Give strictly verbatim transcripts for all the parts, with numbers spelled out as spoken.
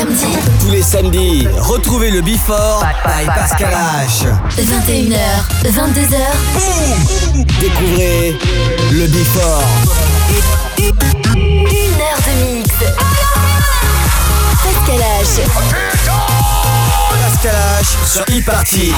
samedis. Tous les samedis, retrouvez le Before by Pascal H. vingt et une heures, vingt-deux heures. Boum. Découvrez le Before. Une heure de mix. Pascal H. Pascal H sur e-party.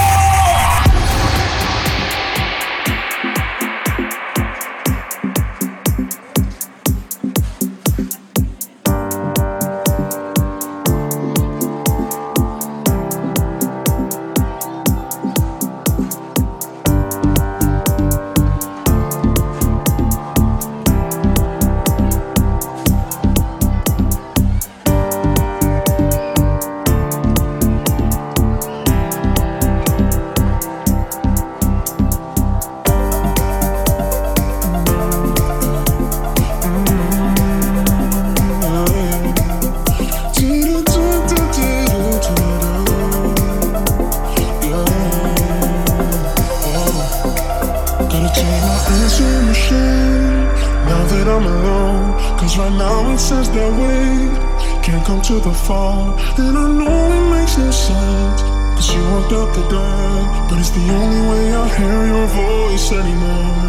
To the fall, and I know it makes no sense, cause you walked out the door, but it's the only way I hear your voice anymore.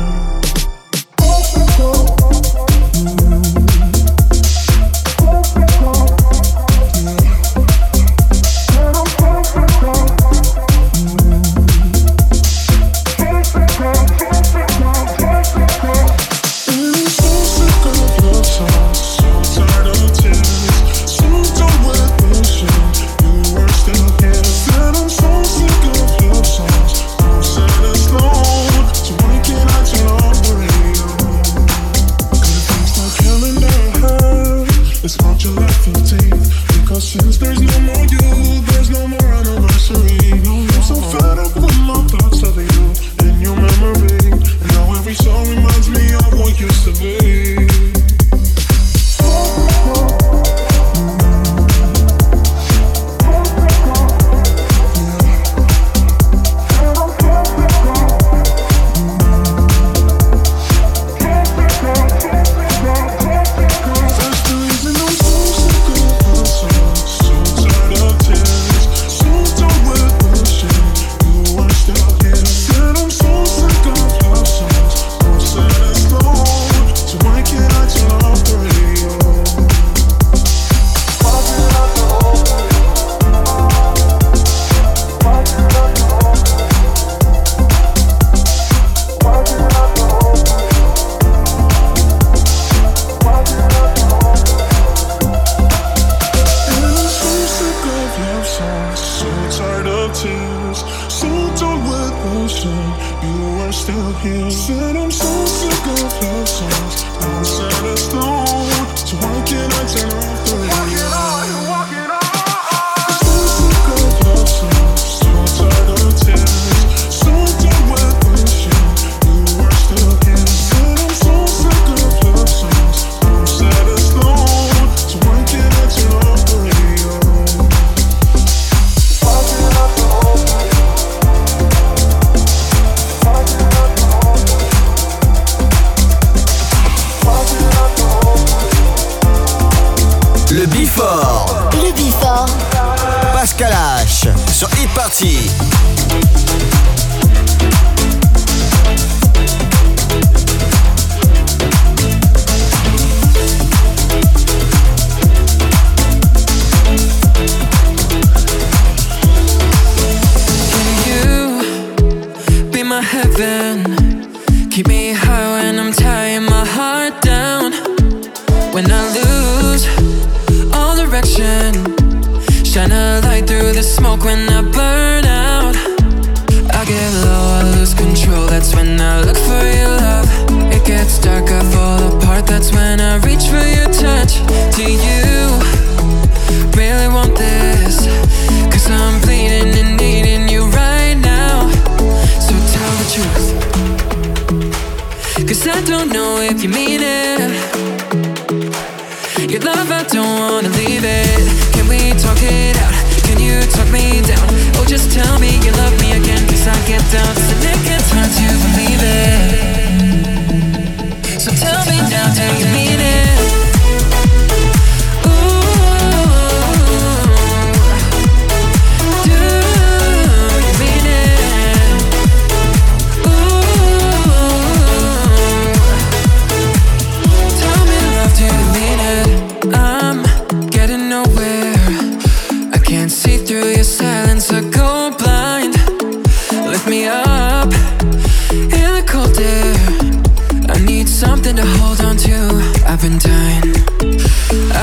Tell me now, do you mean it? Ooh.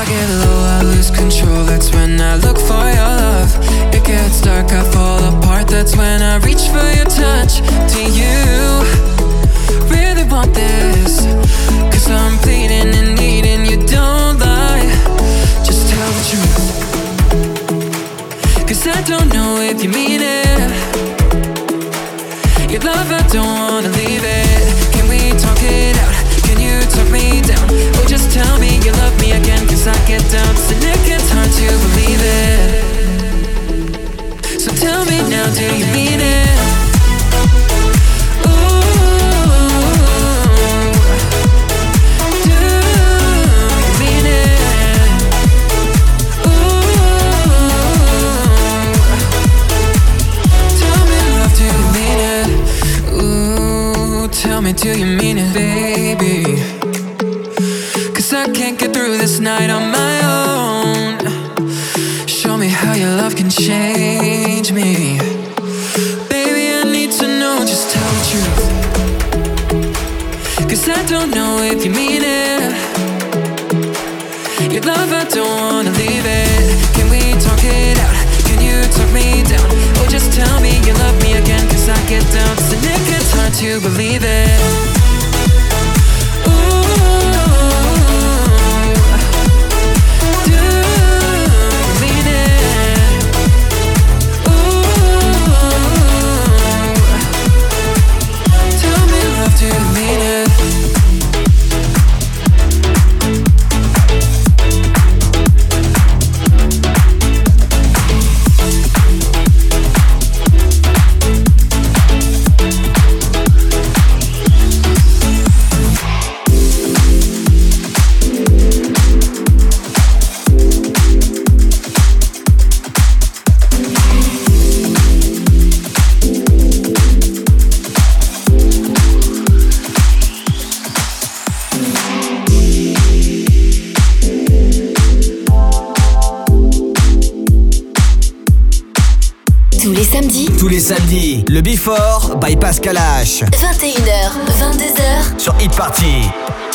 I get low, I lose control, that's when I look for your love. It gets dark, I fall apart, that's when I reach for your touch. Do you really want this? Cause I'm bleeding and needing you, don't lie. Just tell the truth. Cause I don't know if you mean it. Your love, I don't wanna leave it. Can we talk it out? Can you talk me down? Or just tell me you love me again? Cause I get doubts and it gets hard to believe it. So tell me now, do you mean it? Do you mean it, baby? Cause I can't get through this night on my own. Show me how your love can change me. Baby, I need to know, just tell the truth. Cause I don't know if you mean it. Your love, I don't wanna leave it. Can we talk it out? Can you talk me down? Or just tell me you love me again? Cause I get doubts and it gets hard to believe it. Samedi, le Before by Pascal H. vingt et une heures, vingt-deux heures sur Hit Party.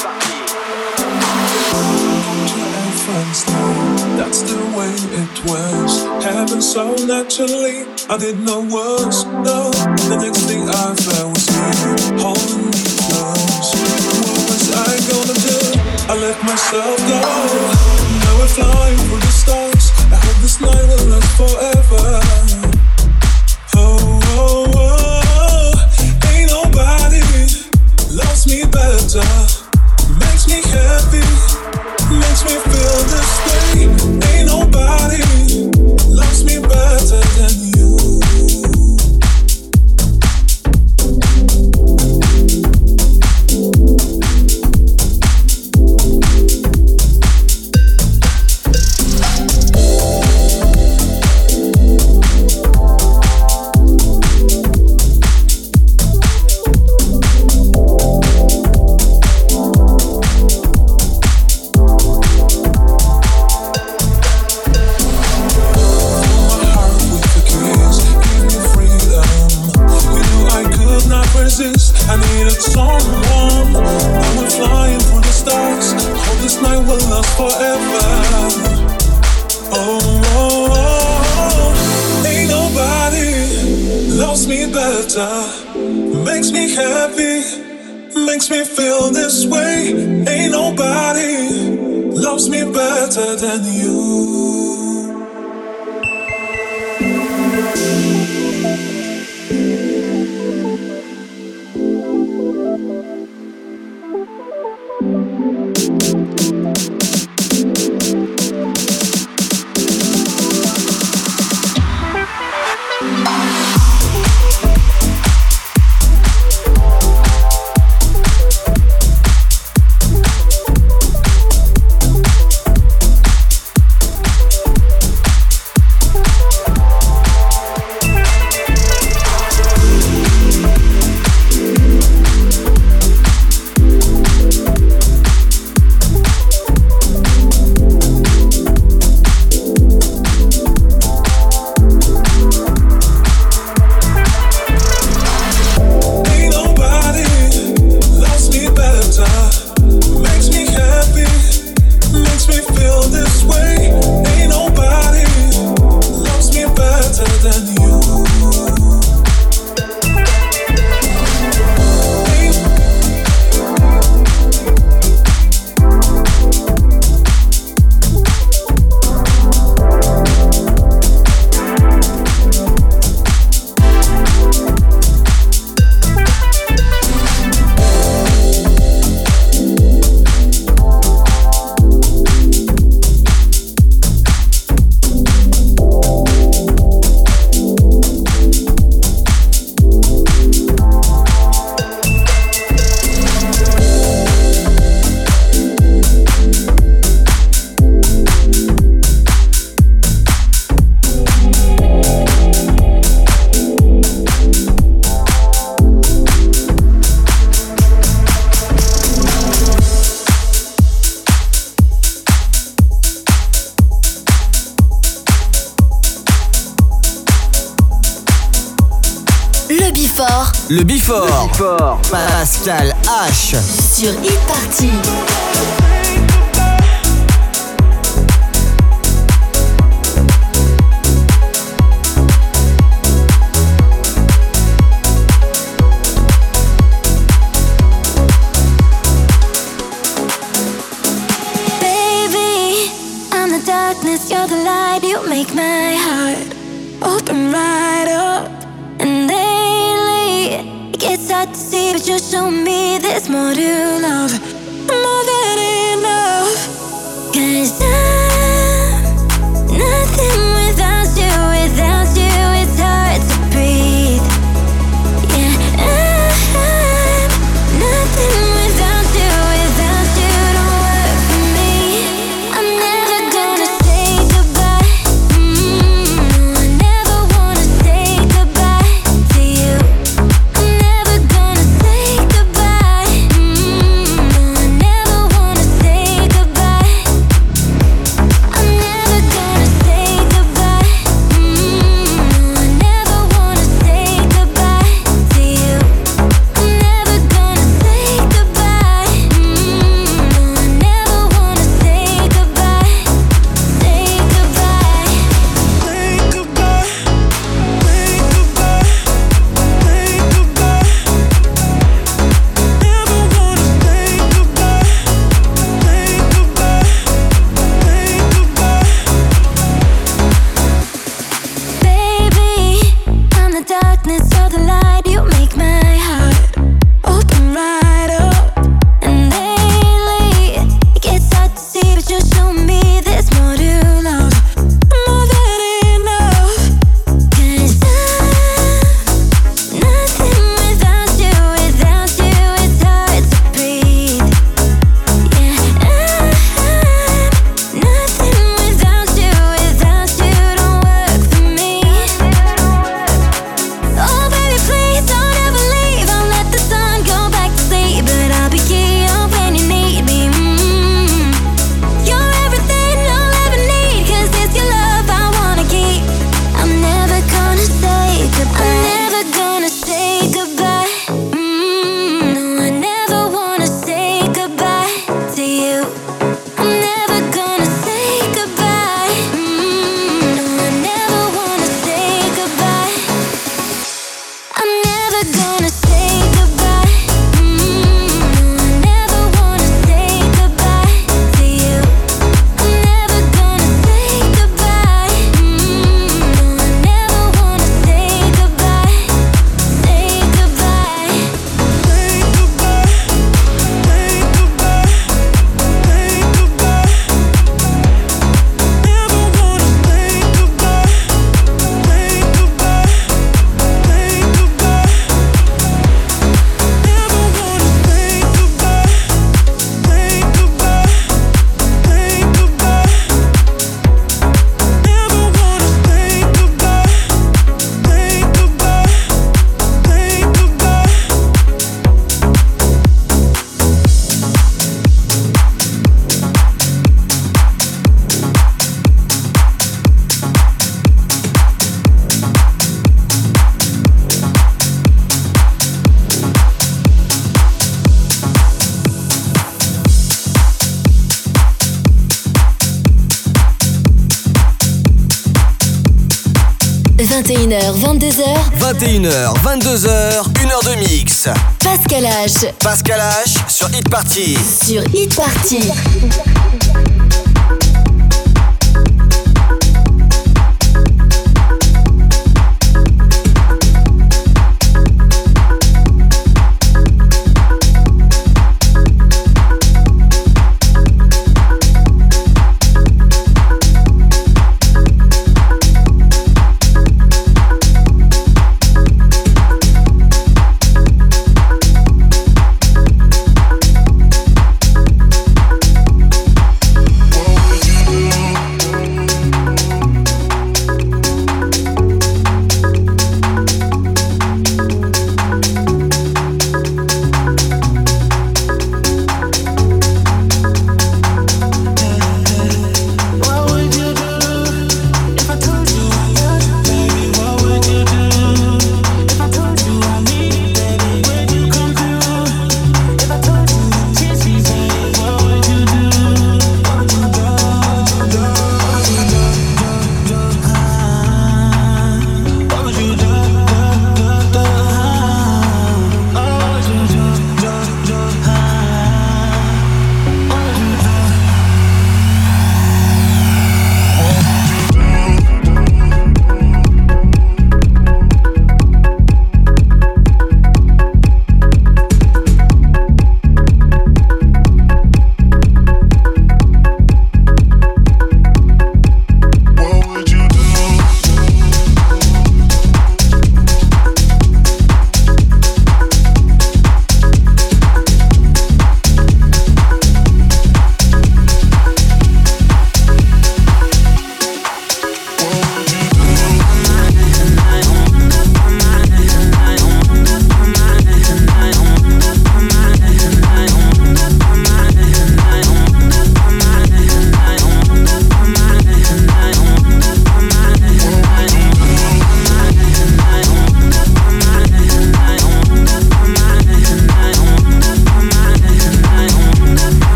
That's the way it was. Happened so naturally. I didn't know was no. The next thing I felt was you holding me close. What was I gonna do? I let myself go. Now we're flying through the stars. I hope this night will last forever. Oh, oh, oh, ain't nobody loves me better. Makes me happy, makes me feel this way. Ain't nobody loves me better than you. I needed someone. I went flying for the stars. Hope this night will last forever. Oh, oh, oh, ain't nobody loves me better. Makes me happy, makes me feel this way. Ain't nobody loves me better than you. Before. Le Before. Pascal H. Sur Hit Party. You're the light, you make my heart open right up. And lately, it gets hard to see, but you're showing me there's more to love, more than enough. 'Cause I'm nothing without you, without you, it's hard to breathe. Yeah, I'm nothing without you, without you, don't work for me. I'm never gonna say goodbye. Mm, I never wanna say goodbye to you. I'm never gonna say goodbye. Mm, I never wanna say goodbye. I'm never gonna say goodbye. Mm, I never wanna say goodbye to you. I'm never gonna say goodbye. Mm, I never wanna say goodbye. Say goodbye. Say goodbye. Say goodbye. Say goodbye. Never wanna say goodbye. Say goodbye. Say goodbye. Baby, I'm the darkness, you're the light, you make my heart open right up. And lately, it gets hard to see, but you're showing me there's more to love, more than enough. 'Cause I'm nothing without you, without you, it's hard to breathe. Yeah, I'm nothing without you, without you, don't work for me. Oh baby, please don't ever leave. I'll let the sun go back to sleep, but I'll be here when you need me. Mm. You're everything I'll ever need, 'cause it's your love I wanna keep. I'm never gonna say goodbye. I'm never gonna say goodbye. Mm, no, I never wanna say goodbye to you. I'm never gonna say goodbye. Mm, no, I never wanna say goodbye. I'm never gonna say goodbye. Mm, I never wanna say goodbye to you. I'm never gonna say goodbye. Mm, I never wanna say goodbye. Say goodbye. Say goodbye. Say goodbye. Say goodbye. Never wanna say goodbye. Say goodbye. Say goodbye. Never wanna say goodbye. Say goodbye. Say goodbye. Never wanna say goodbye. Say goodbye. Say goodbye. vingt et une heures, vingt-deux heures. vingt et une heures, vingt-deux heures, une heure de mix. Pascal H. Pascal H sur Hit Party. Sur Hit Party.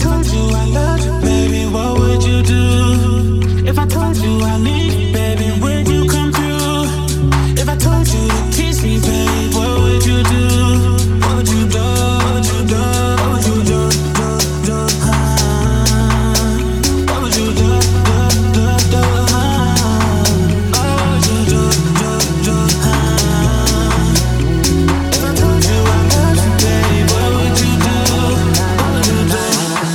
told you I loved you, baby, what would you do? If I told you I need you, baby, would you come through? If I told you to kiss me, babe, what would you do? What would you do? What would you do? What would you do? Do, do, ah. What would you do? Do, do, do, ah. What would you do? Do, do, ah. If I told you I loved you, babe, what would you do? What would you do?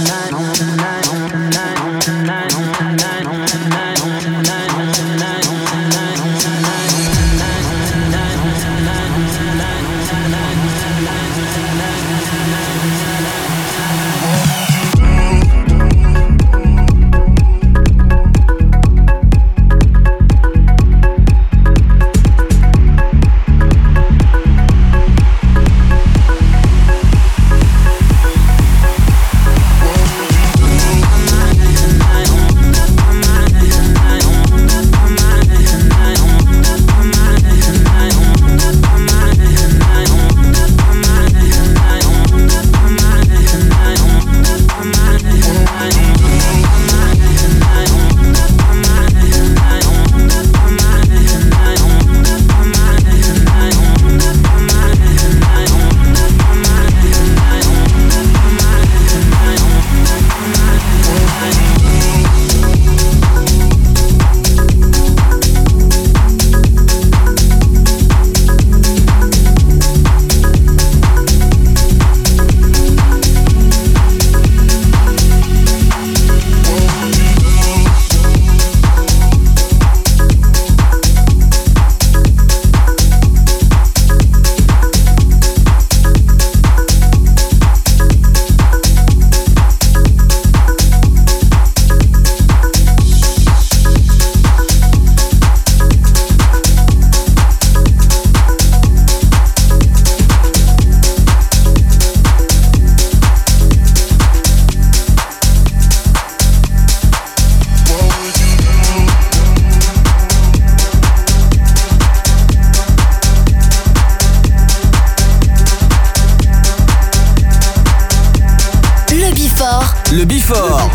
Le Before.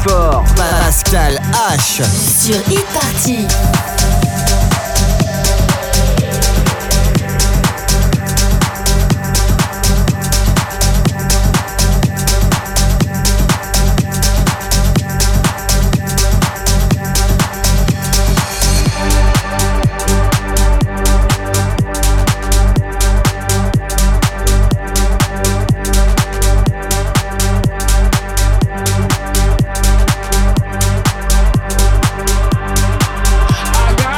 Pascal H. Sur Hit Party. I got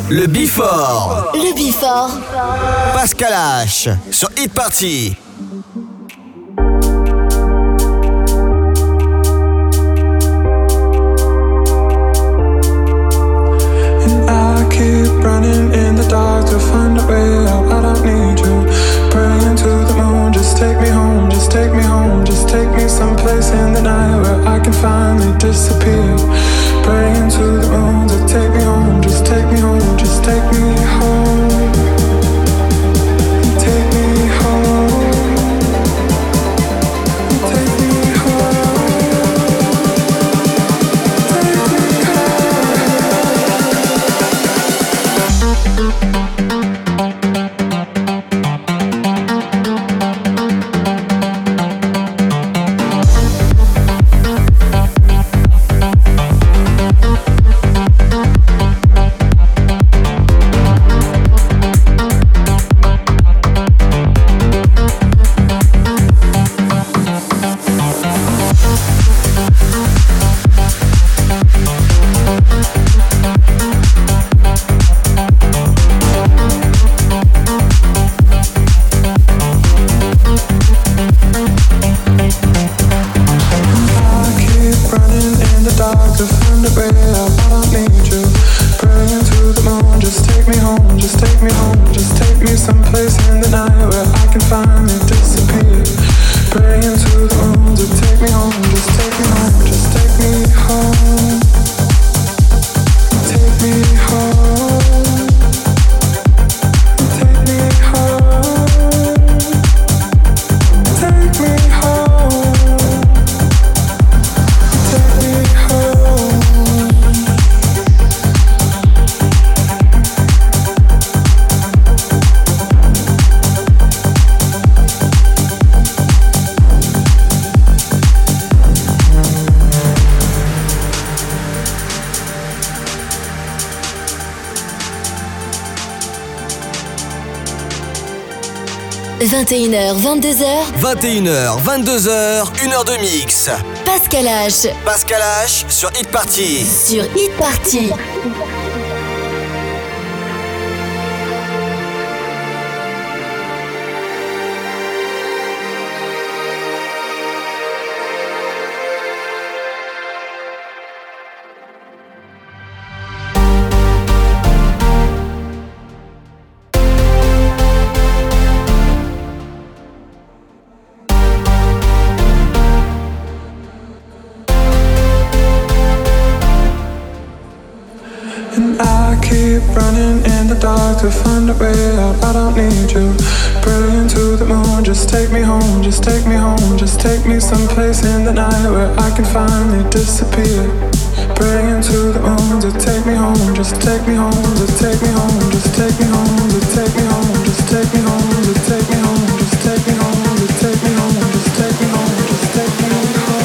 Le Before. Le Before. Pascal H sur Hit Party. Keep running in the dark to find a way out. I don't need you. Praying to the moon, just take me home, just take me home, just take me someplace in the night where I can finally disappear. Praying to the moon to take me home, just take me home, just take me home. Take me home. Take me home. vingt et une heures, vingt-deux heures. vingt et une heures, vingt-deux heures, une heure de mix. Pascal H. Pascal H sur Hit Party. Sur Hit Party. To find a way out, I don't need you. Praying to the moon, just take me home, just take me home, just take me someplace in the night where I can finally disappear. Praying to the moon to take me home, just take me home, to take me home, just take me home, to take me home, just take me home, to take me home, just take me home, to take me home, just take me home, just take me home.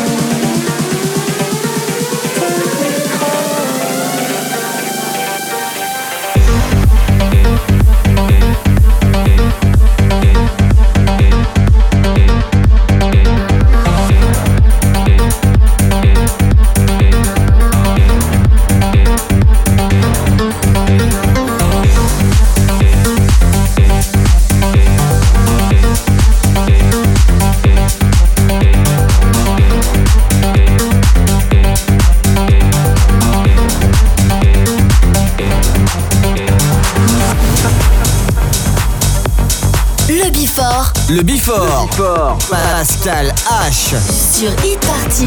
Le Before. Before. Pascal H sur Hit Party.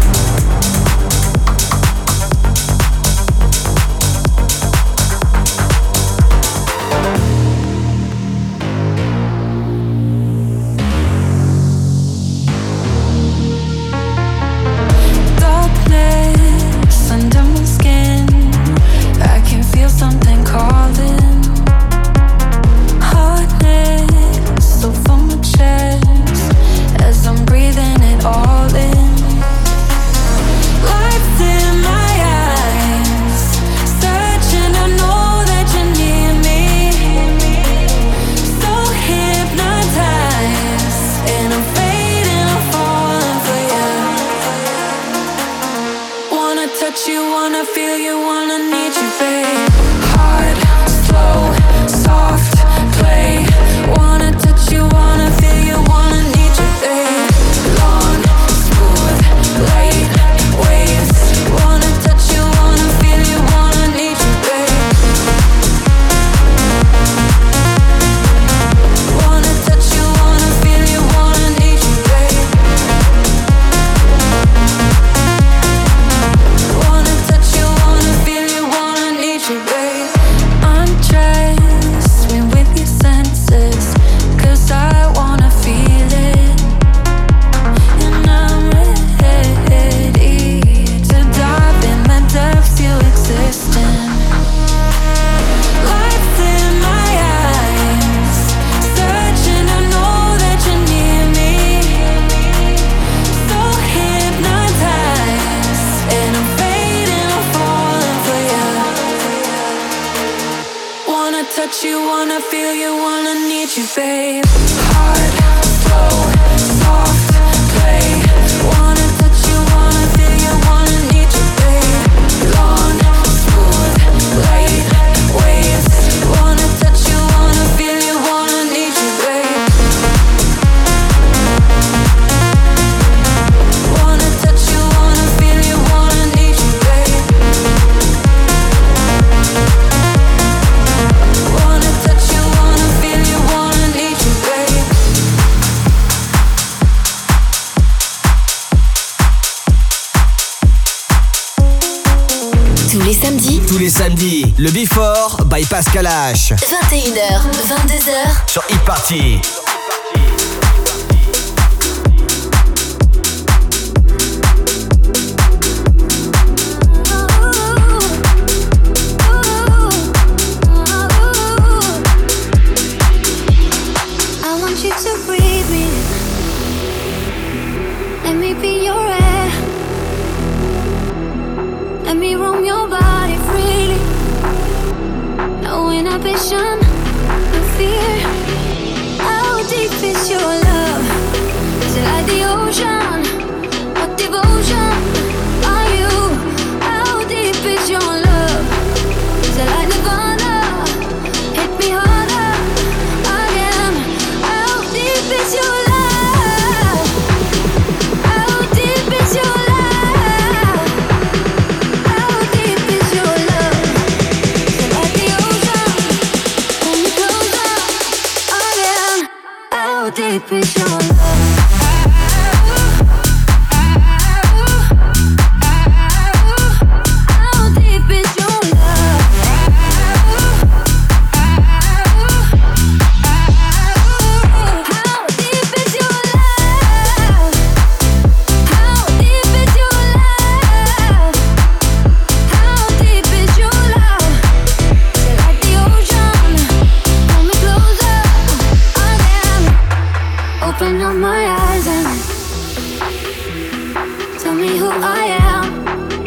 Darkness under my skin, I can feel something calling. So from my chest, as I'm breathing it all in. Wanna touch you, wanna feel you, wanna need you, babe. Hard, slow, soft, play. Wanna touch you, wanna feel you, wanna need you, babe. Long, smooth, light, waves. Wanna touch you, wanna feel you, wanna need you, babe. Wanna touch you, wanna feel you, wanna need you, babe. Wanna touch you, wanna feel you, wanna need you, babe. Tous les samedis, Tous les samedis, le Before by Pascal H. vingt et une heures, vingt-deux heures. Sur Hit Party. I want you to breathe me. Let me be your air. Let me roam your body freely. No inhibition, no fear. How deep is your love? Is it like the ocean? What devotion are you? How deep is your love? Is it like Nirvana? Hit me harder again. How deep is your love? How deep is your love? How deep is your love? Is it like the ocean? Pull me closer again. How deep is your love? How deep is your love? How deep is your love? How deep is your love? How deep is your love? Is it like the ocean? Pull me closer again. Open up my eyes and tell me who I am.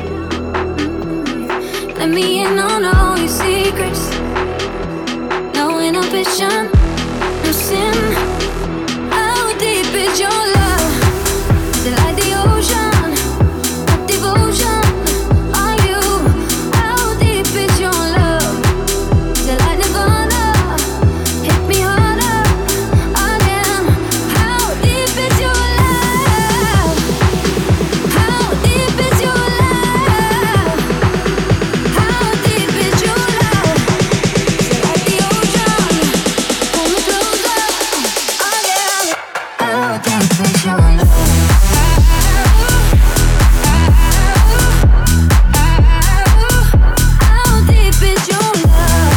Let me in on all your secrets. No inhibition, no sin. How deep is your love? Is it like the ocean? What devotion are you? How deep is your love? Is it like Nirvana? Hit me harder again. How deep is your love? How deep is your love? How deep is your love? Is it like the ocean? Pull me closer again. How deep is your love? How deep is your love?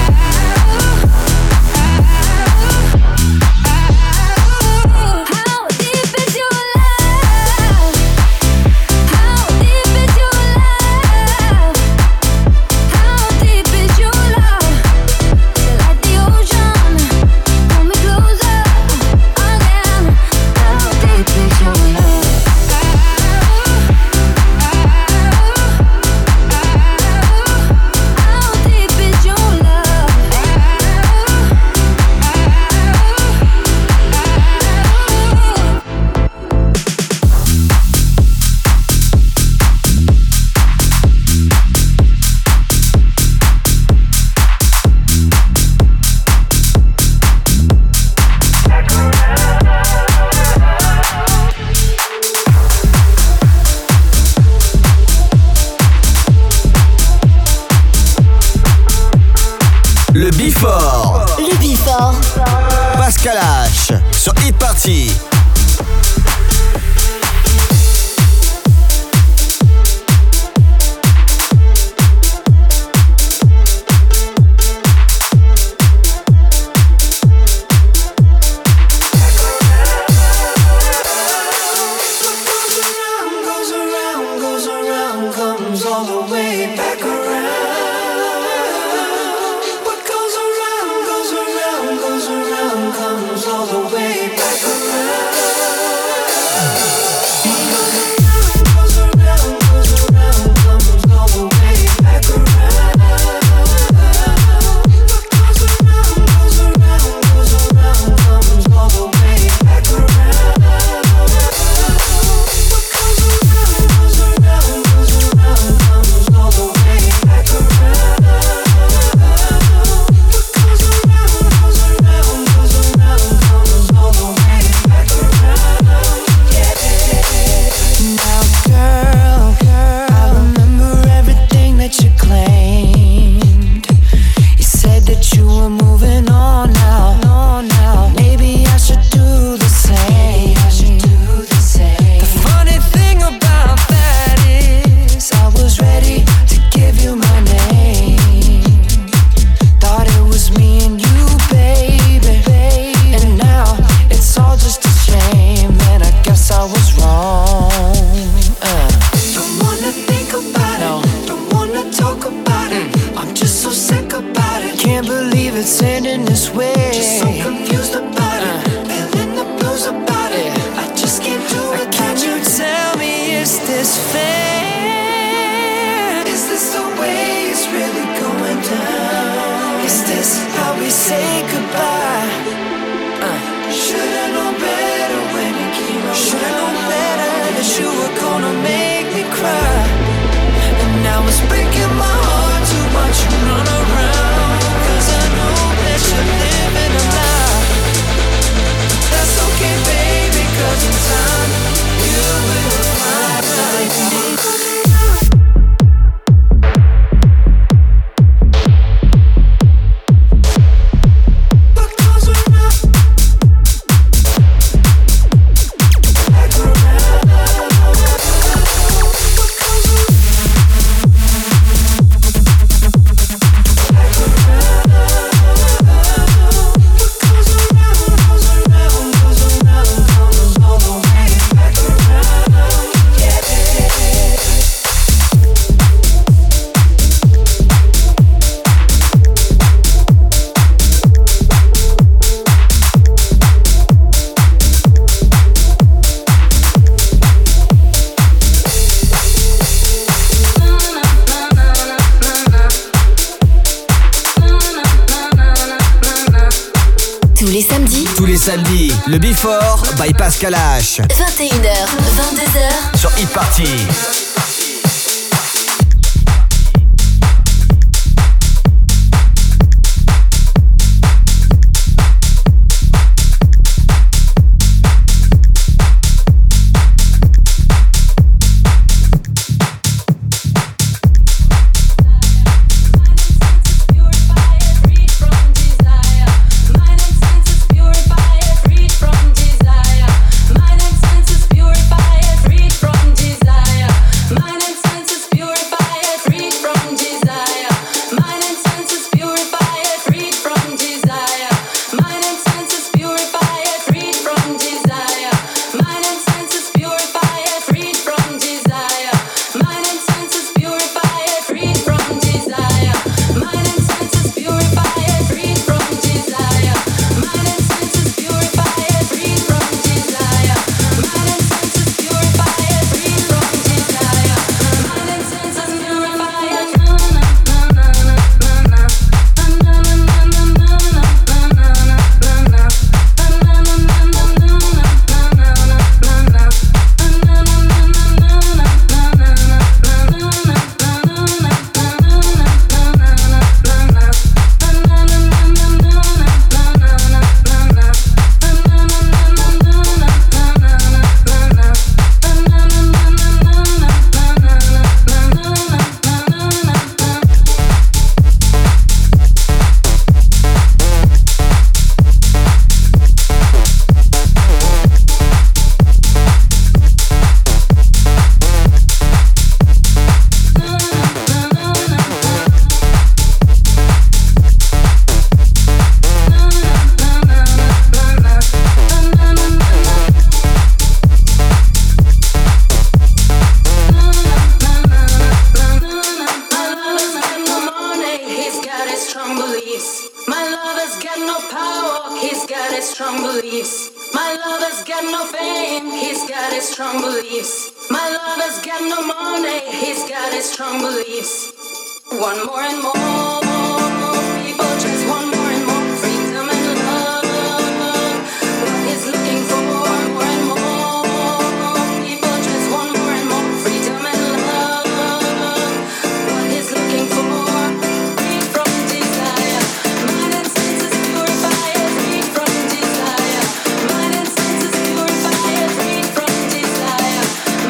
How deep is your love? How deep is your love? How deep is your love? Is it like the ocean? Pull me closer again. How deep is your love? How deep is your love? Le Before, Le Before. Pascal H. Sur Hit Party. Goes around, goes around, comes all the way back around. What goes around, goes around, goes around, comes all the way back around. feel it sending this way. Just so confused about uh. it, feeling the blues about it. I just can't do it. Can you tell me, is this fair? Is this the way it's really going down? Is this how we say goodbye? Uh. Should've known better when you came around. Should've known better that you were gonna make me cry. And now it's breaking my heart to watch you run around. Cause I know that you're living a lie. That's okay, baby, cause in time you will find right. Samedi, le Before by Pascal H. vingt et une heures, vingt-deux heures sur Hit Party.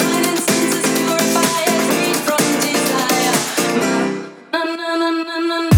na na na na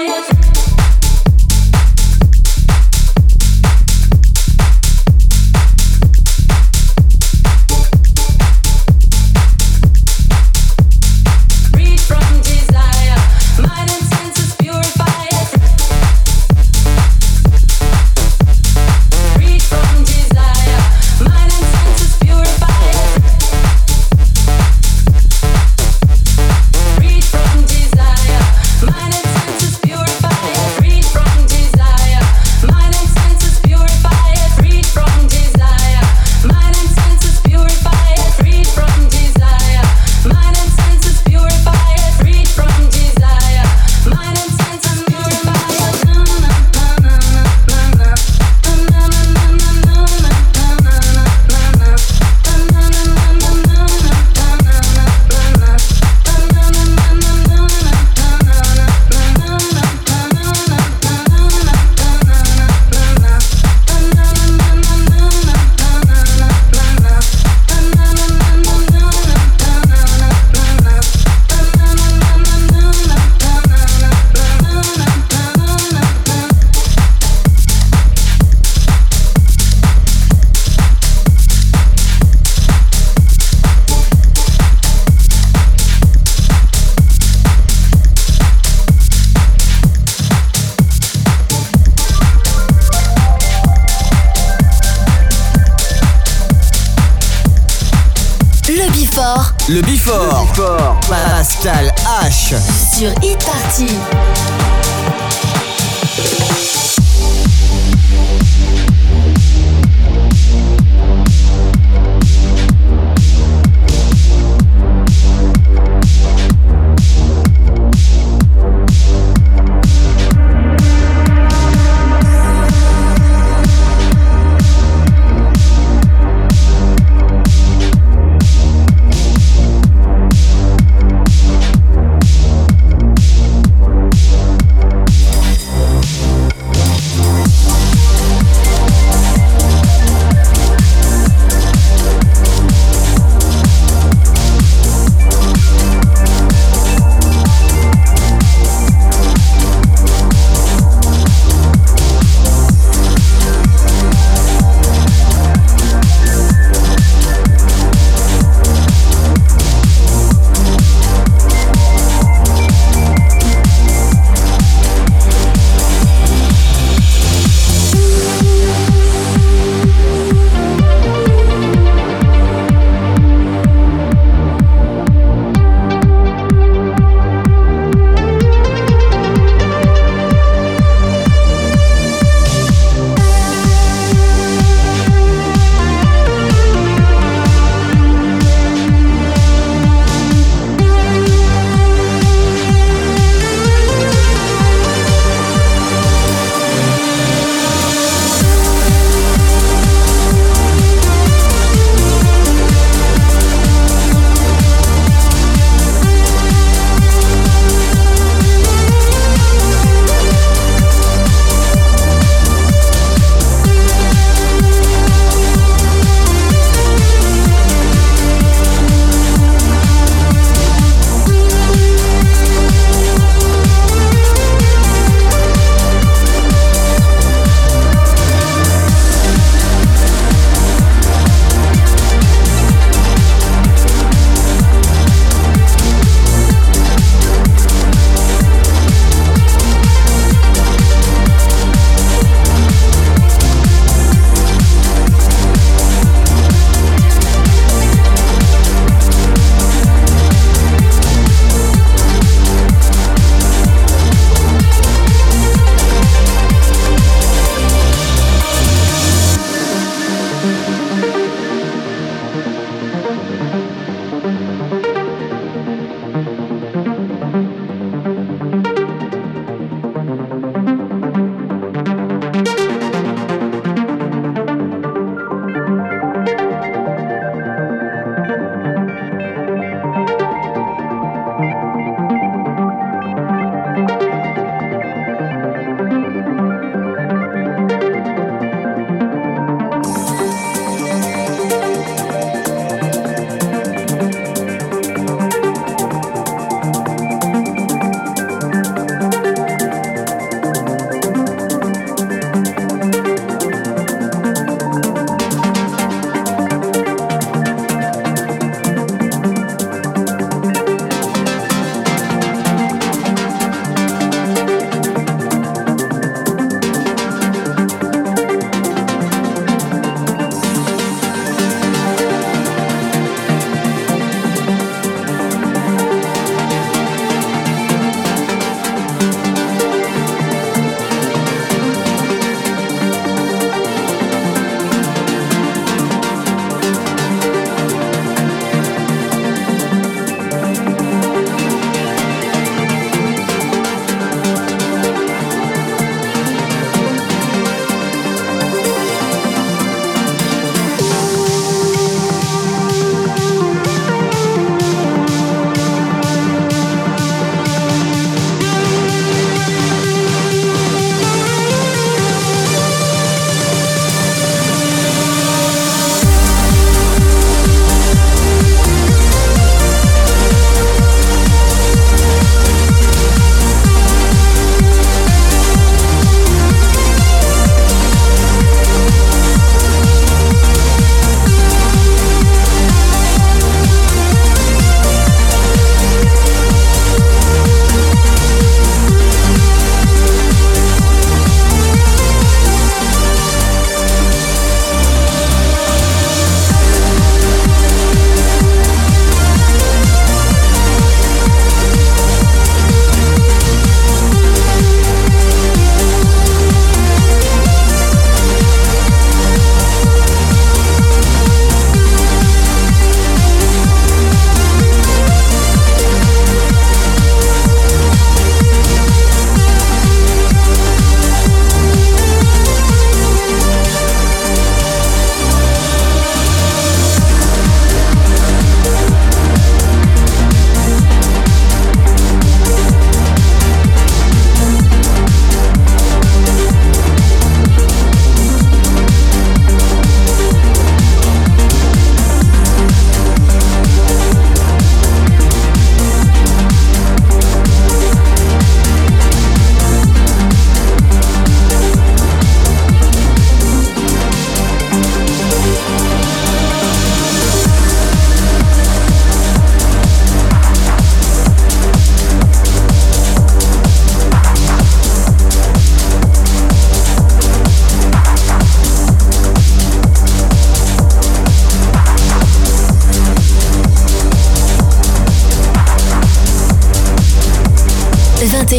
Le Before. Pascal H. Sur Hit Party.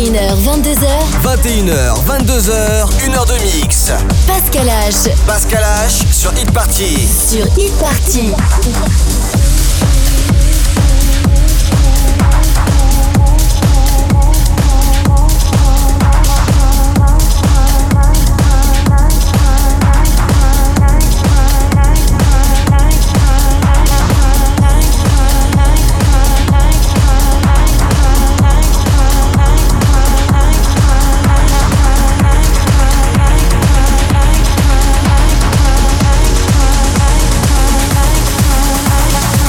et une heures, vingt-deux heures. vingt et une heures, vingt-deux heures, une heure de mix. Pascal H. Pascal H sur Hit Party. Sur Hit Party. Like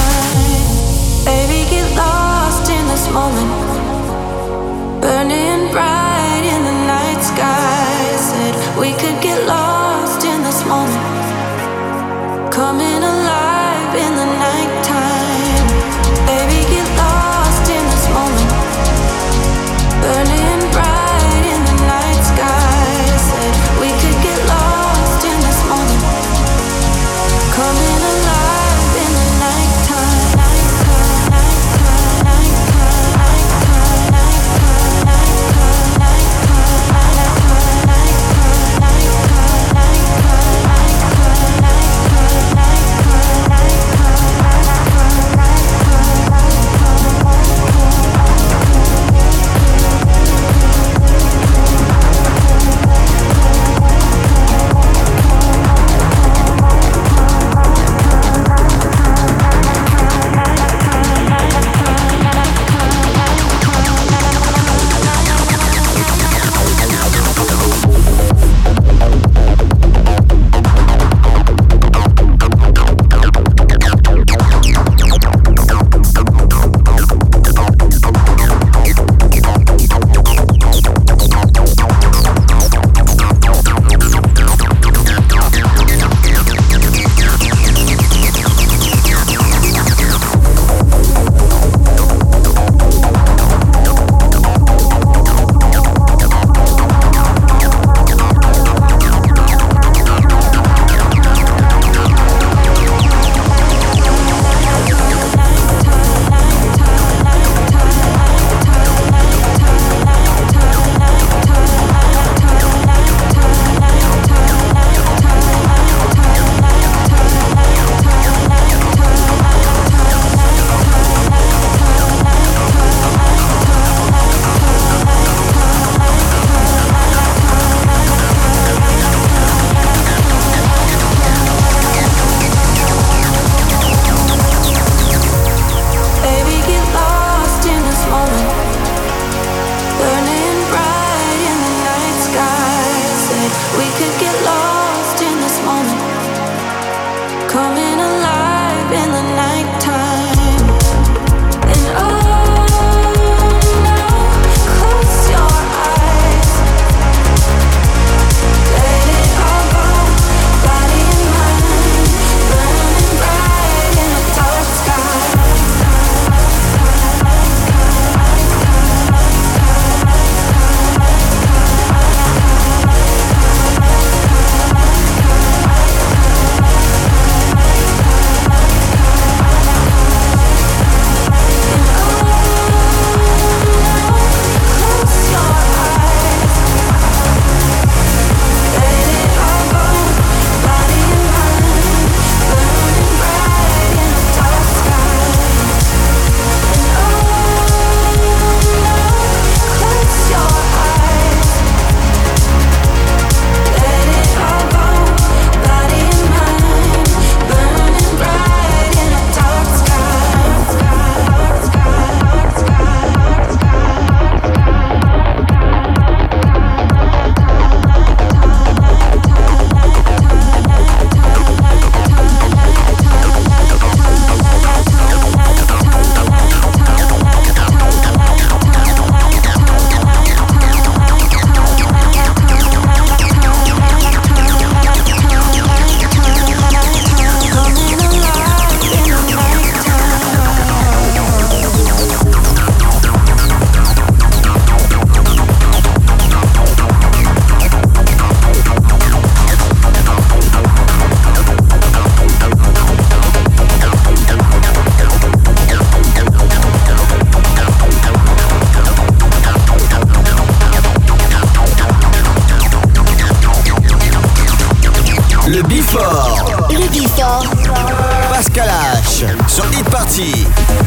Before. Le Before. Pascal H sur Hit Party.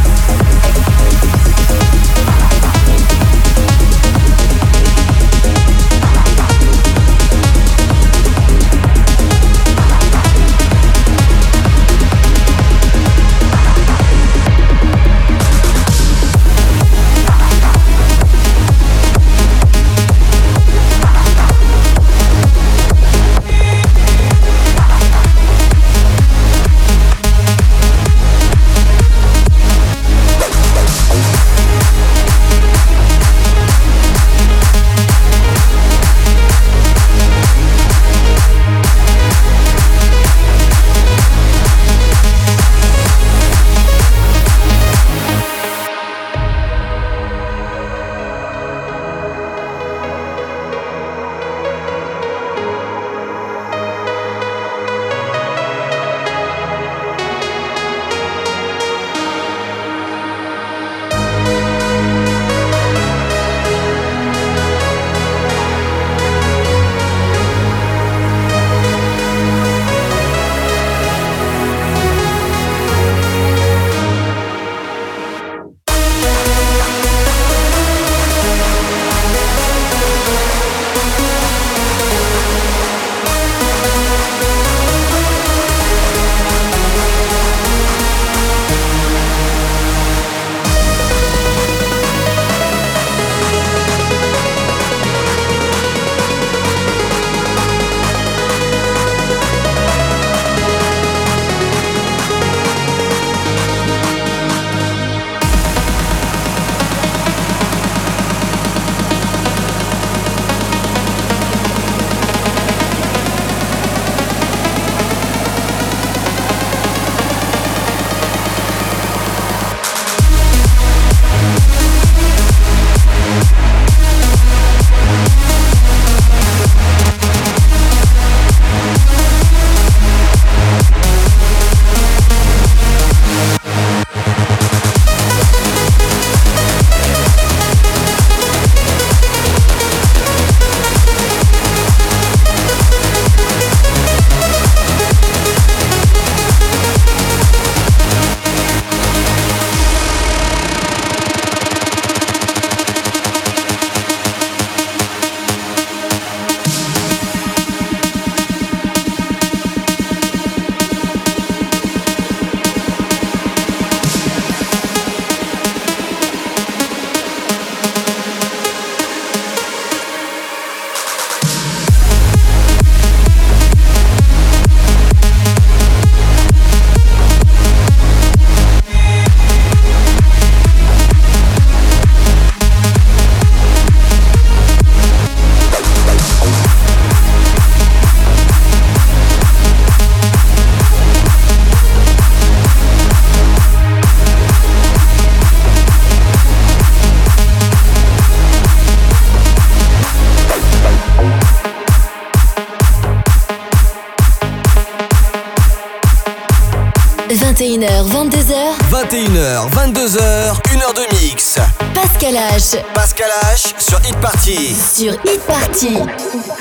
vingt et une heures, vingt-deux heures. vingt et une heures, vingt-deux heures, une heure de mix. Pascal H. Pascal H sur Hit Party. Sur Hit Party.